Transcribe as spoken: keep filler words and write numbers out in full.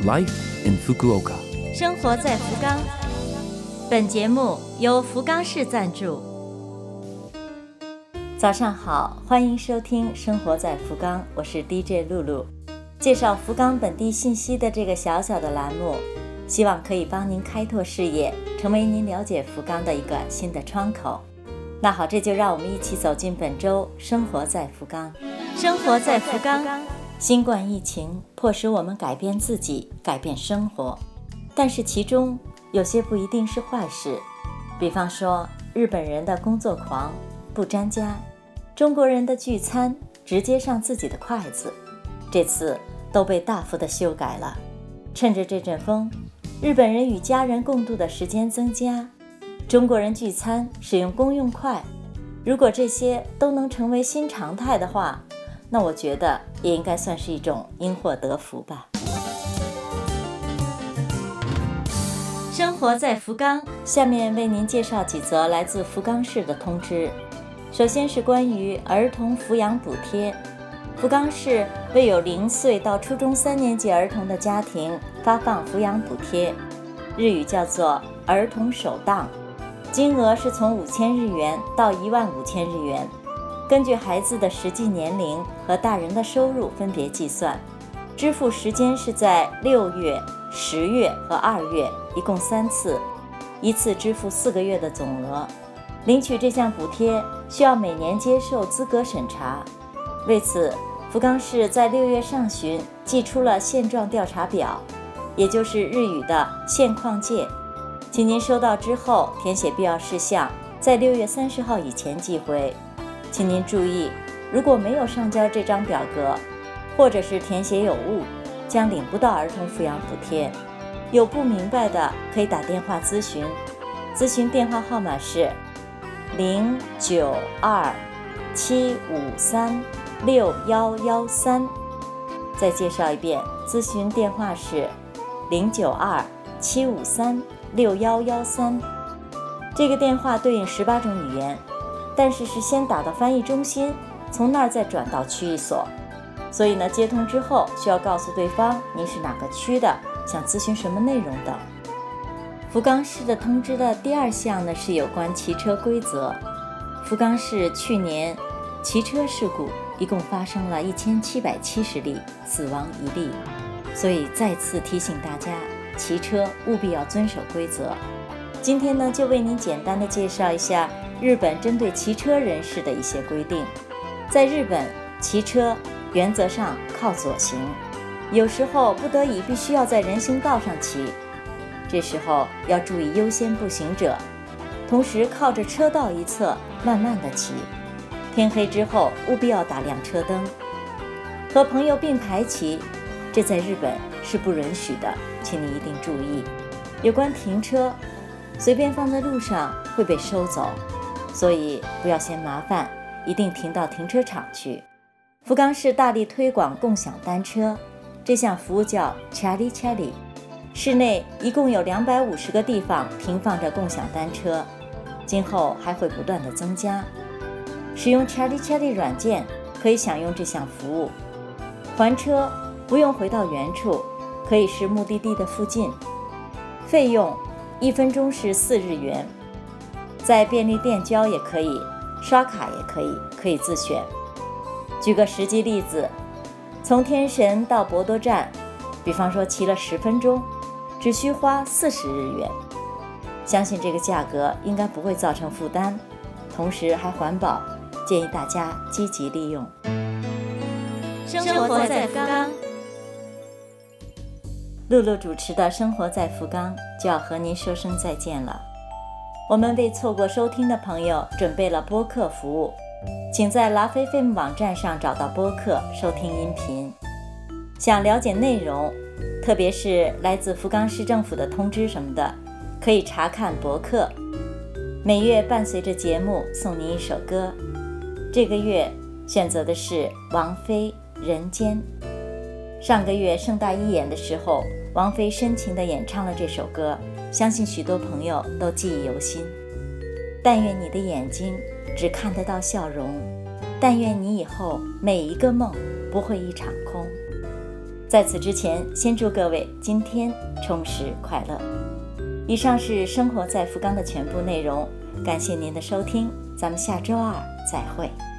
Life in Fukuoka， 生活在福冈。本节目由福冈市赞助。早上好，欢迎收听《生活在福冈》，我是 D J 露露。介绍福冈本地信息的这个小小的栏目，希望可以帮您开拓视野，成为您了解福冈的一个新的窗口。那好，这就让我们一起走进本周《生活在福冈》。生活在福冈。新冠疫情迫使我们改变自己，改变生活，但是其中有些不一定是坏事。比方说，日本人的工作狂，不沾家；中国人的聚餐直接上自己的筷子，这次都被大幅的修改了。趁着这阵风，日本人与家人共度的时间增加，中国人聚餐使用公用筷。如果这些都能成为新常态的话，那我觉得也应该算是一种因祸得福吧。生活在福冈，下面为您介绍几则来自福冈市的通知。首先是关于儿童抚养补贴。福冈市为有零岁到初中三年级儿童的家庭发放抚养补贴，日语叫做儿童首档，金额是从五千日元到一万五千日元。根据孩子的实际年龄和大人的收入分别计算，支付时间是在六月、十月和二月，一共三次，一次支付四个月的总额。领取这项补贴需要每年接受资格审查。为此，福冈市在六月上旬寄出了现状调查表，也就是日语的现况介，请您收到之后填写必要事项，在六月三十号以前寄回。请您注意，如果没有上交这张表格，或者是填写有误，将领不到儿童抚养补贴。有不明白的可以打电话咨询，咨询电话号码是零九二七五三六一一三。再介绍一遍，咨询电话是零九二七五三六一一三。这个电话对应十八种语言，但是是先打到翻译中心，从那儿再转到区域所。所以呢，接通之后需要告诉对方您是哪个区的，想咨询什么内容等。福冈市的通知的第二项呢，是有关骑车规则。福冈市去年骑车事故一共发生了一千七百七十例，死亡一例，所以再次提醒大家，骑车务必要遵守规则。今天呢，就为您简单的介绍一下日本针对骑车人士的一些规定。在日本，骑车原则上靠左行，有时候不得已必须要在人行道上骑，这时候要注意优先步行者，同时靠着车道一侧慢慢的骑。天黑之后务必要打亮车灯。和朋友并排骑，这在日本是不允许的，请你一定注意。有关停车，随便放在路上会被收走，所以不要嫌麻烦，一定停到停车场去。福冈市大力推广共享单车，这项服务叫 Chari Chari， 市内一共有两百五十个地方停放着共享单车，今后还会不断的增加。使用 Chari Chari 软件可以享用这项服务，还车不用回到原处，可以是目的地的附近，费用一分钟是四日元，在便利店交也可以，刷卡也可以，可以自选。举个实际例子，从天神到博多站，比方说骑了十分钟，只需花四十日元。相信这个价格应该不会造成负担，同时还环保，建议大家积极利用。生活在福冈，露露主持的生活在福冈就要和您说声再见了。我们为错过收听的朋友准备了播客服务，请在 Love F M 网站上找到播客收听音频。想了解内容，特别是来自福冈市政府的通知什么的，可以查看博客。每月伴随着节目送您一首歌，这个月选择的是王菲《人间》。上个月盛大一演的时候，王菲深情地演唱了这首歌，相信许多朋友都记忆犹新。但愿你的眼睛只看得到笑容，但愿你以后每一个梦不会一场空。 在此之前，先祝各位今天充实快乐。以上是生活在福冈的全部内容，感谢您的收听，咱们下周二再会。